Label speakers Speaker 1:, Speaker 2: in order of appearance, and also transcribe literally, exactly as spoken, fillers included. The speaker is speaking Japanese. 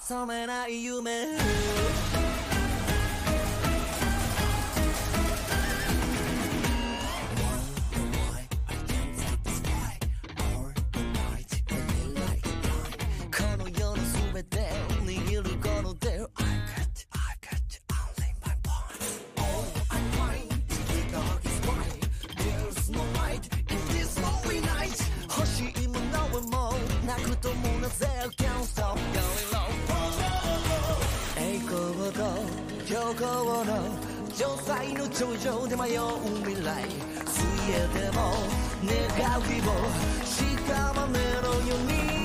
Speaker 1: 覚めない夢この世の全てを握るこの手を 泣くともなぜ Can't stop going low 栄光と虚構の城塞の頂上で迷う未来水泳でも願う希望しかまねのように